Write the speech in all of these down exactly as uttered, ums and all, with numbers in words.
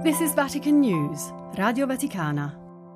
This is Vatican News, Radio Vaticana.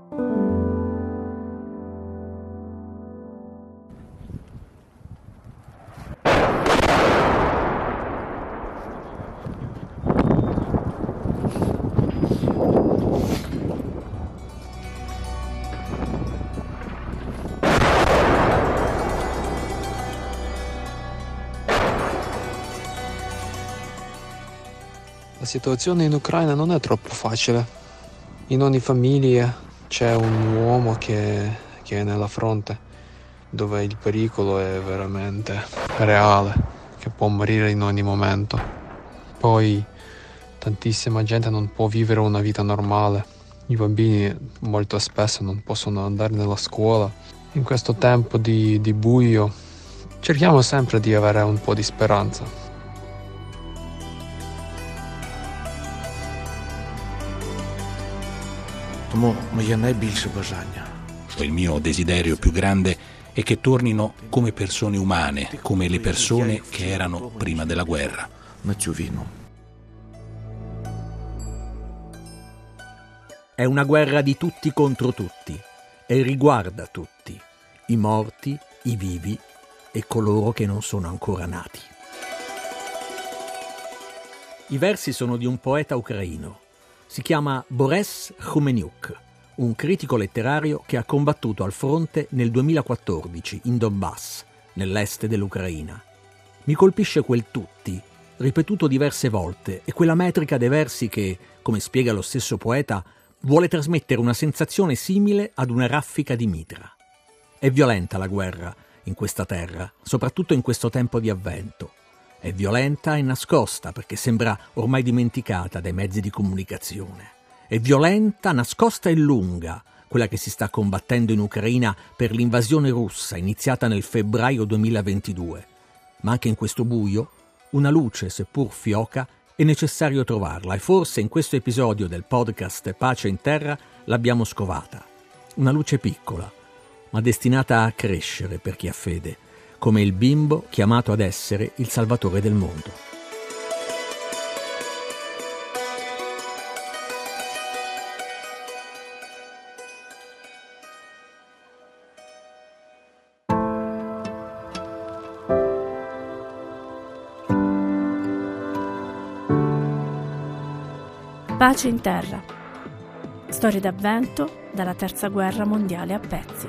La situazione in Ucraina non è troppo facile. In ogni famiglia c'è un uomo che, che è nella fronte, dove il pericolo è veramente reale, che può morire in ogni momento. Poi tantissima gente non può vivere una vita normale. I bambini molto spesso non possono andare nella scuola. In questo tempo di, di buio cerchiamo sempre di avere un po' di speranza. Тому моє найбільше бажання. Il mio desiderio più grande è che tornino come persone umane, come le persone che erano prima della guerra. На цю війну. È una guerra di tutti contro tutti e riguarda tutti, i morti, i vivi e coloro che non sono ancora nati. I versi sono di un poeta ucraino. Si chiama Boris Khumeniuk, un critico letterario che ha combattuto al fronte nel duemilaquattordici in Donbass, nell'est dell'Ucraina. Mi colpisce quel tutti, ripetuto diverse volte, e quella metrica dei versi che, come spiega lo stesso poeta, vuole trasmettere una sensazione simile ad una raffica di mitra. È violenta la guerra in questa terra, soprattutto in questo tempo di avvento. È violenta e nascosta perché sembra ormai dimenticata dai mezzi di comunicazione. È violenta, nascosta e lunga, quella che si sta combattendo in Ucraina per l'invasione russa iniziata nel febbraio duemilaventidue. Ma anche in questo buio, una luce, seppur fioca, è necessario trovarla e forse in questo episodio del podcast Pace in Terra l'abbiamo scovata. Una luce piccola, ma destinata a crescere per chi ha fede, come il bimbo chiamato ad essere il salvatore del mondo. Pace in Terra. Storie d'avvento dalla Terza Guerra Mondiale a pezzi.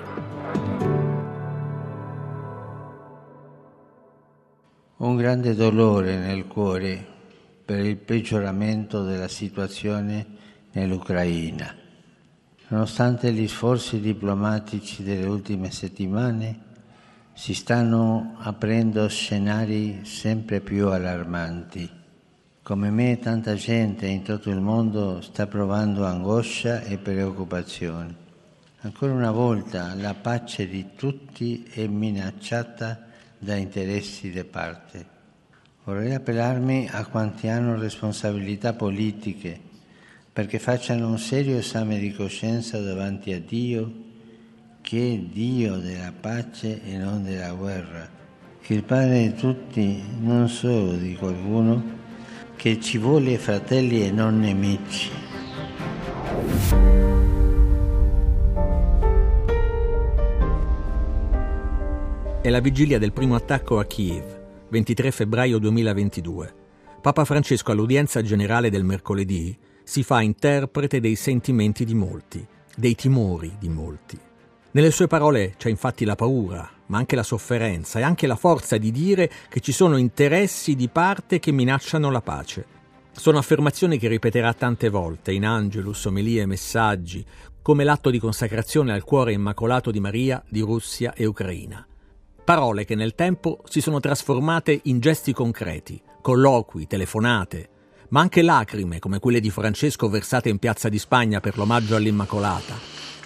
Un grande dolore nel cuore per il peggioramento della situazione nell'Ucraina. Nonostante gli sforzi diplomatici delle ultime settimane, si stanno aprendo scenari sempre più allarmanti. Come me, tanta gente in tutto il mondo sta provando angoscia e preoccupazione. Ancora una volta la pace di tutti è minacciata da interessi di parte. Vorrei appellarmi a quanti hanno responsabilità politiche perché facciano un serio esame di coscienza davanti a Dio, che è Dio della pace e non della guerra, che il Padre di tutti, non solo di qualcuno, che ci vuole fratelli e non nemici. È la vigilia del primo attacco a Kiev, ventitré febbraio duemilaventidue. Papa Francesco, all'udienza generale del mercoledì, si fa interprete dei sentimenti di molti, dei timori di molti. Nelle sue parole c'è infatti la paura, ma anche la sofferenza e anche la forza di dire che ci sono interessi di parte che minacciano la pace. Sono affermazioni che ripeterà tante volte in Angelus, omelie e messaggi, come l'atto di consacrazione al cuore immacolato di Maria di Russia e Ucraina. Parole che nel tempo si sono trasformate in gesti concreti, colloqui, telefonate, ma anche lacrime come quelle di Francesco versate in Piazza di Spagna per l'omaggio all'Immacolata.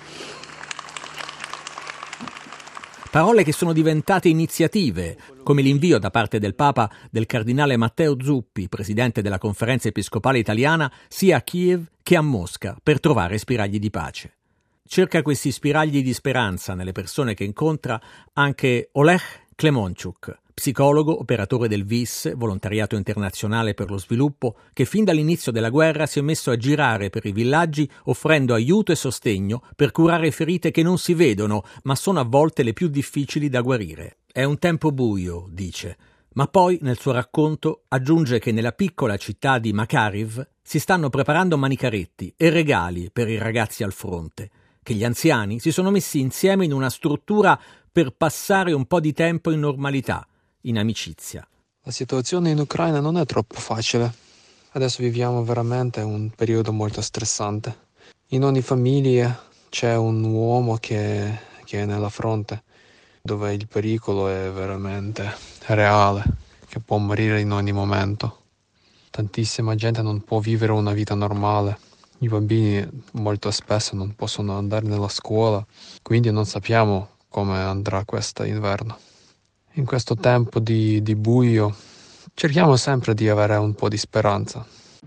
Parole che sono diventate iniziative, come l'invio da parte del Papa del cardinale Matteo Zuppi, presidente della Conferenza Episcopale Italiana, sia a Kiev che a Mosca, per trovare spiragli di pace. Cerca questi spiragli di speranza nelle persone che incontra anche Oleg Klemonchuk, psicologo, operatore del V I S, Volontariato Internazionale per lo Sviluppo, che fin dall'inizio della guerra si è messo a girare per i villaggi offrendo aiuto e sostegno per curare ferite che non si vedono, ma sono a volte le più difficili da guarire. È un tempo buio, dice, ma poi nel suo racconto aggiunge che nella piccola città di Makariv si stanno preparando manicaretti e regali per i ragazzi al fronte, che gli anziani si sono messi insieme in una struttura per passare un po' di tempo in normalità, in amicizia. La situazione in Ucraina non è troppo facile. Adesso viviamo veramente un periodo molto stressante. In ogni famiglia c'è un uomo che, che è nella fronte, dove il pericolo è veramente reale, che può morire in ogni momento. Tantissima gente non può vivere una vita normale. I bambini molto spesso non possono andare nella scuola, quindi non sappiamo come andrà questo inverno. In questo tempo di, di buio cerchiamo sempre di avere un po' di speranza.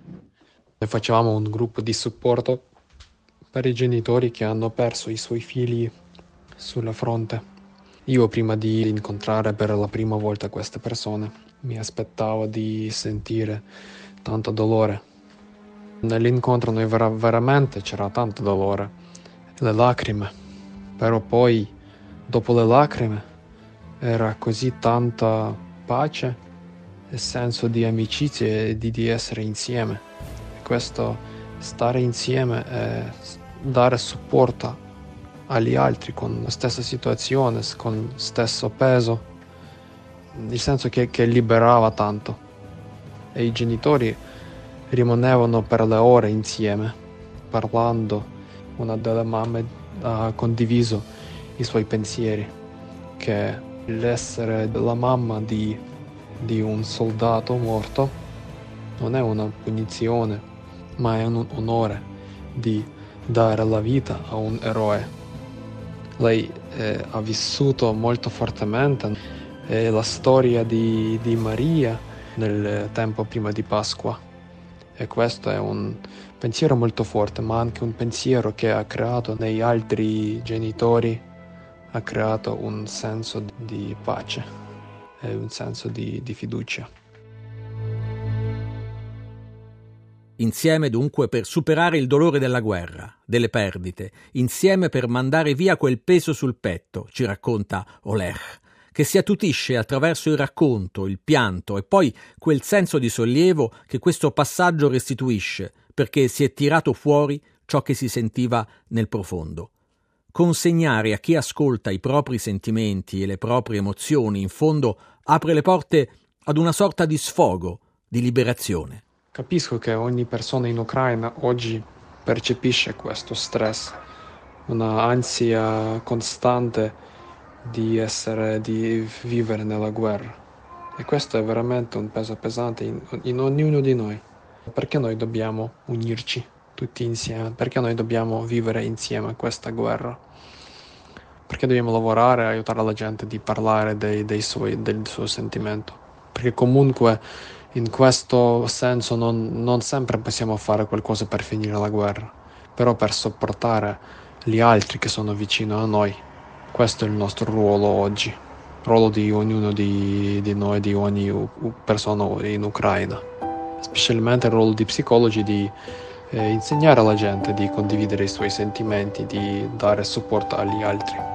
Noi facevamo un gruppo di supporto per i genitori che hanno perso i suoi figli sulla fronte. Io prima di incontrare per la prima volta queste persone mi aspettavo di sentire tanto dolore. Nell'incontro noi vera- veramente c'era tanto dolore, le lacrime, però poi dopo le lacrime era così tanta pace e senso di amicizia e di, di essere insieme. E questo stare insieme e dare supporto agli altri con la stessa situazione, con lo stesso peso, il senso che, che liberava tanto. E i genitori rimanevano per le ore insieme, parlando. Una delle mamme ha condiviso i suoi pensieri, che l'essere la mamma di, di un soldato morto non è una punizione, ma è un onore di dare la vita a un eroe. Lei eh, ha vissuto molto fortemente eh, la storia di, di Maria nel tempo prima di Pasqua, e questo è un pensiero molto forte, ma anche un pensiero che ha creato negli altri genitori, ha creato un senso di pace e un senso di, di fiducia. Insieme dunque per superare il dolore della guerra, delle perdite, insieme per mandare via quel peso sul petto, ci racconta Oleg, che si attutisce attraverso il racconto, il pianto e poi quel senso di sollievo che questo passaggio restituisce, perché si è tirato fuori ciò che si sentiva nel profondo. Consegnare a chi ascolta i propri sentimenti e le proprie emozioni, in fondo, apre le porte ad una sorta di sfogo, di liberazione. Capisco che ogni persona in Ucraina oggi percepisce questo stress, una ansia costante di essere, di vivere nella guerra. E questo è veramente un peso pesante in, in ognuno di noi. Perché noi dobbiamo unirci tutti insieme? Perché noi dobbiamo vivere insieme questa guerra? Perché dobbiamo lavorare, aiutare la gente di parlare dei, dei suoi, del suo sentimento? Perché comunque in questo senso non, non sempre possiamo fare qualcosa per finire la guerra, però per sopportare gli altri che sono vicino a noi. Questo è il nostro ruolo oggi, il ruolo di ognuno di, di noi, di ogni persona in Ucraina. Specialmente il ruolo di psicologi di eh, insegnare alla gente di condividere i suoi sentimenti, di dare supporto agli altri.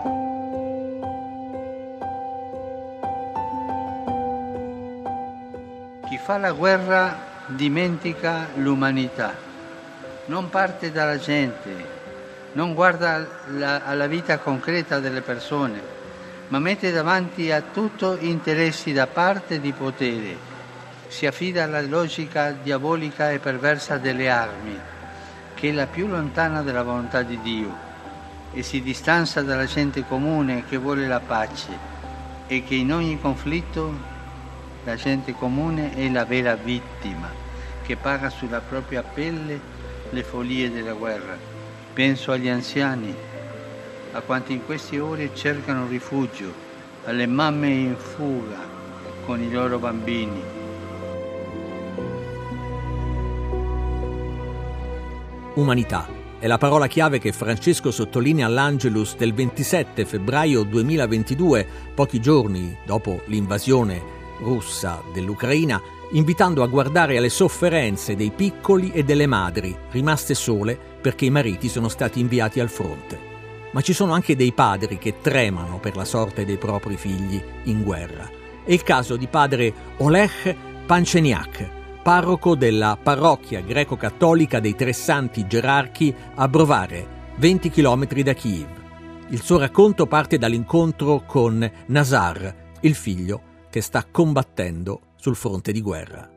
Chi fa la guerra dimentica l'umanità, non parte dalla gente, non guarda la, alla vita concreta delle persone, ma mette davanti a tutto interessi da parte di potere. Si affida alla logica diabolica e perversa delle armi, che è la più lontana dalla volontà di Dio, e si distanza dalla gente comune che vuole la pace e che in ogni conflitto la gente comune è la vera vittima, che paga sulla propria pelle le follie della guerra. Penso agli anziani, a quanti in queste ore cercano rifugio, alle mamme in fuga con i loro bambini. Umanità è la parola chiave che Francesco sottolinea all'Angelus del ventisette febbraio duemilaventidue, pochi giorni dopo l'invasione russa dell'Ucraina, invitando a guardare alle sofferenze dei piccoli e delle madri rimaste sole perché i mariti sono stati inviati al fronte. Ma ci sono anche dei padri che tremano per la sorte dei propri figli in guerra. È il caso di padre Oleg Panceniak, parroco della parrocchia greco-cattolica dei Tre Santi Gerarchi a Brovare, venti chilometri da Kiev. Il suo racconto parte dall'incontro con Nazar, il figlio che sta combattendo sul fronte di guerra.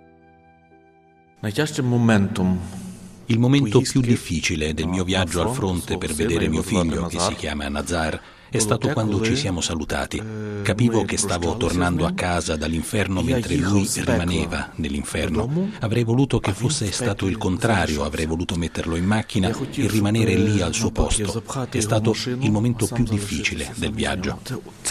Il momento più difficile del mio viaggio al fronte per vedere mio figlio, che si chiama Nazar, è stato quando ci siamo salutati. Capivo che stavo tornando a casa dall'inferno mentre lui rimaneva nell'inferno. Avrei voluto che fosse stato il contrario, avrei voluto metterlo in macchina e rimanere lì al suo posto. È stato il momento più difficile del viaggio.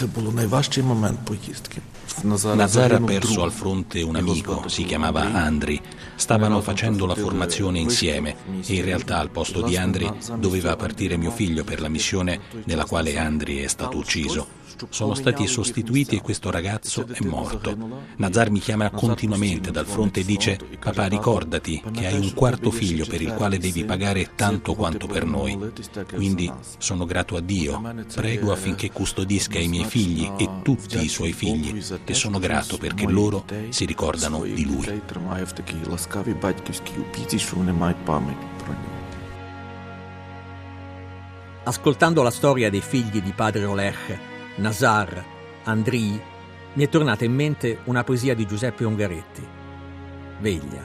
Nazar ha perso al fronte un amico, si chiamava Andriy. Stavano facendo la formazione insieme e in realtà al posto di Andriy doveva partire mio figlio per la missione nella quale Andriy è stato ucciso. Sono stati sostituiti e questo ragazzo è morto. Nazar mi chiama continuamente dal fronte e dice: papà, ricordati che hai un quarto figlio per il quale devi pagare tanto quanto per noi. Quindi sono grato a Dio, prego affinché custodisca i miei figli e tutti i suoi figli e sono grato perché loro si ricordano di lui. Ascoltando la storia dei figli di padre Oleg, Nazar, Andriy, mi è tornata in mente una poesia di Giuseppe Ungaretti. Veglia.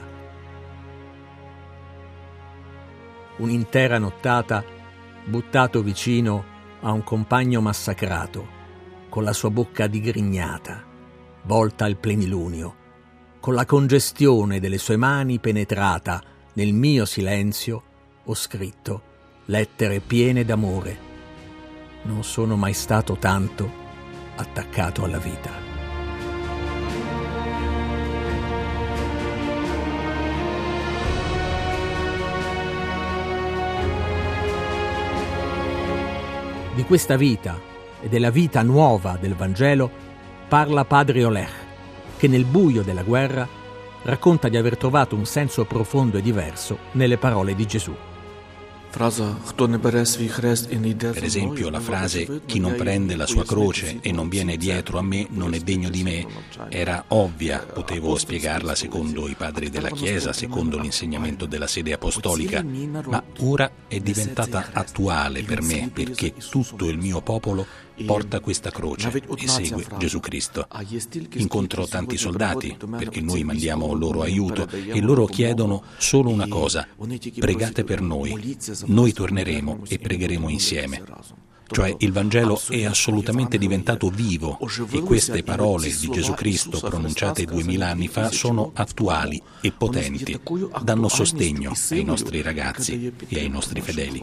Un'intera nottata buttato vicino a un compagno massacrato, con la sua bocca digrignata, volta al plenilunio, con la congestione delle sue mani penetrata nel mio silenzio, ho scritto lettere piene d'amore. Non sono mai stato tanto attaccato alla vita. Di questa vita e della vita nuova del Vangelo parla padre Oleg, che nel buio della guerra racconta di aver trovato un senso profondo e diverso nelle parole di Gesù. Per esempio la frase «chi non prende la sua croce e non viene dietro a me non è degno di me» era ovvia, potevo spiegarla secondo i padri della Chiesa, secondo l'insegnamento della sede apostolica, ma ora è diventata attuale per me perché tutto il mio popolo porta questa croce e segue Gesù Cristo. Incontro tanti soldati perché noi mandiamo loro aiuto e loro chiedono solo una cosa: pregate per noi, noi torneremo e pregheremo insieme. Cioè il Vangelo è assolutamente diventato vivo e queste parole di Gesù Cristo pronunciate duemila anni fa sono attuali e potenti, danno sostegno ai nostri ragazzi e ai nostri fedeli.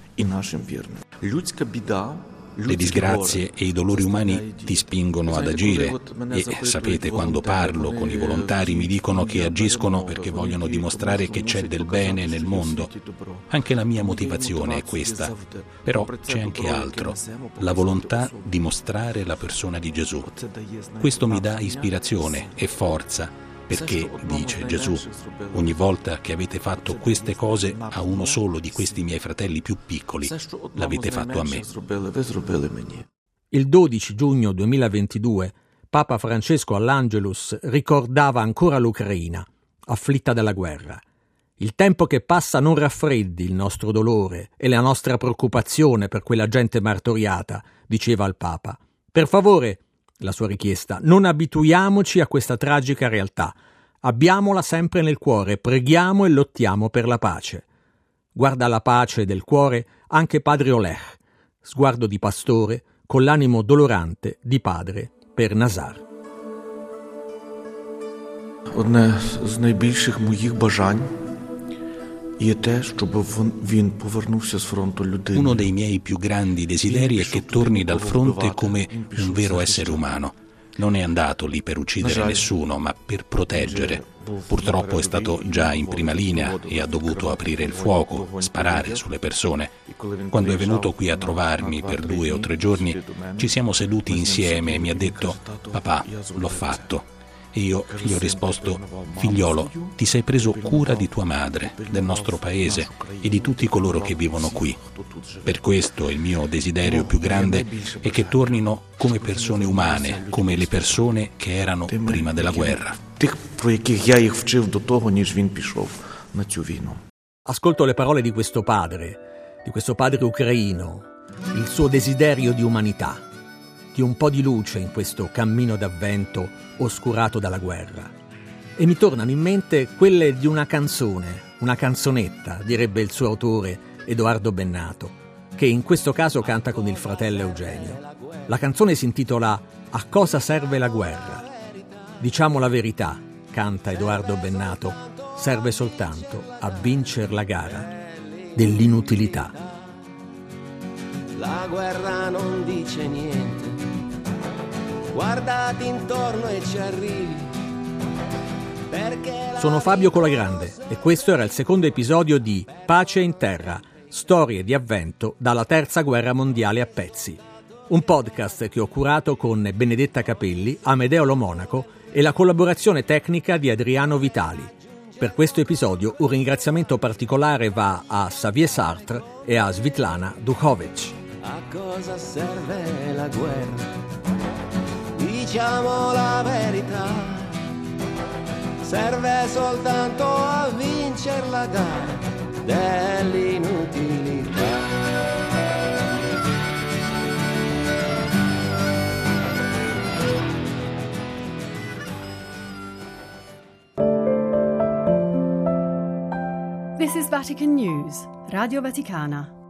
Le disgrazie e i dolori umani ti spingono ad agire e sapete, quando parlo con i volontari mi dicono che agiscono perché vogliono dimostrare che c'è del bene nel mondo. Anche la mia motivazione è questa, però c'è anche altro, la volontà di mostrare la persona di Gesù. Questo mi dà ispirazione e forza. Perché, dice Gesù, ogni volta che avete fatto queste cose a uno solo di questi miei fratelli più piccoli, l'avete fatto a me. Il dodici giugno duemilaventidue, Papa Francesco all'Angelus ricordava ancora l'Ucraina, afflitta dalla guerra. Il tempo che passa non raffreddi il nostro dolore e la nostra preoccupazione per quella gente martoriata, diceva il Papa. Per favore, la sua richiesta, non abituiamoci a questa tragica realtà. Abbiamola sempre nel cuore, preghiamo e lottiamo per la pace. Guarda la pace del cuore anche padre Oleg, sguardo di pastore con l'animo dolorante di padre per Nazar. Одне з найбільших моїх бажань є те, щоб він повернувся з фронту людини. Uno dei miei più grandi desideri è che torni dal fronte come un vero essere umano. Non è andato lì per uccidere nessuno, ma per proteggere. Purtroppo è stato già in prima linea e ha dovuto aprire il fuoco, sparare sulle persone. Quando è venuto qui a trovarmi per due o tre giorni, ci siamo seduti insieme e mi ha detto: «Papà, l'ho fatto». E io gli ho risposto: «Figliolo, ti sei preso cura di tua madre, del nostro paese e di tutti coloro che vivono qui. Per questo il mio desiderio più grande è che tornino come persone umane, come le persone che erano prima della guerra». Ascolto le parole di questo padre, di questo padre ucraino, il suo desiderio di umanità, di un po' di luce in questo cammino d'avvento oscurato dalla guerra. E mi tornano in mente quelle di una canzone, una canzonetta, direbbe il suo autore Edoardo Bennato, che in questo caso canta con il fratello Eugenio. La canzone si intitola «A cosa serve la guerra?». Diciamo la verità, canta Edoardo Bennato, serve soltanto a vincere la gara dell'inutilità. La guerra non dice niente, guardati intorno e ci arrivi. Sono Fabio Colagrande e questo era il secondo episodio di Pace in Terra, storie di avvento dalla terza guerra mondiale a pezzi. Un podcast che ho curato con Benedetta Capelli, Amedeo Lo Monaco e la collaborazione tecnica di Adriano Vitali. Per questo episodio un ringraziamento particolare va a Xavier Sartre e a Svitlana Duchovic. A cosa serve la guerra? Diciamo la verità, serve soltanto a vincere la gara dell'inutilità. This is Vatican News, Radio Vaticana.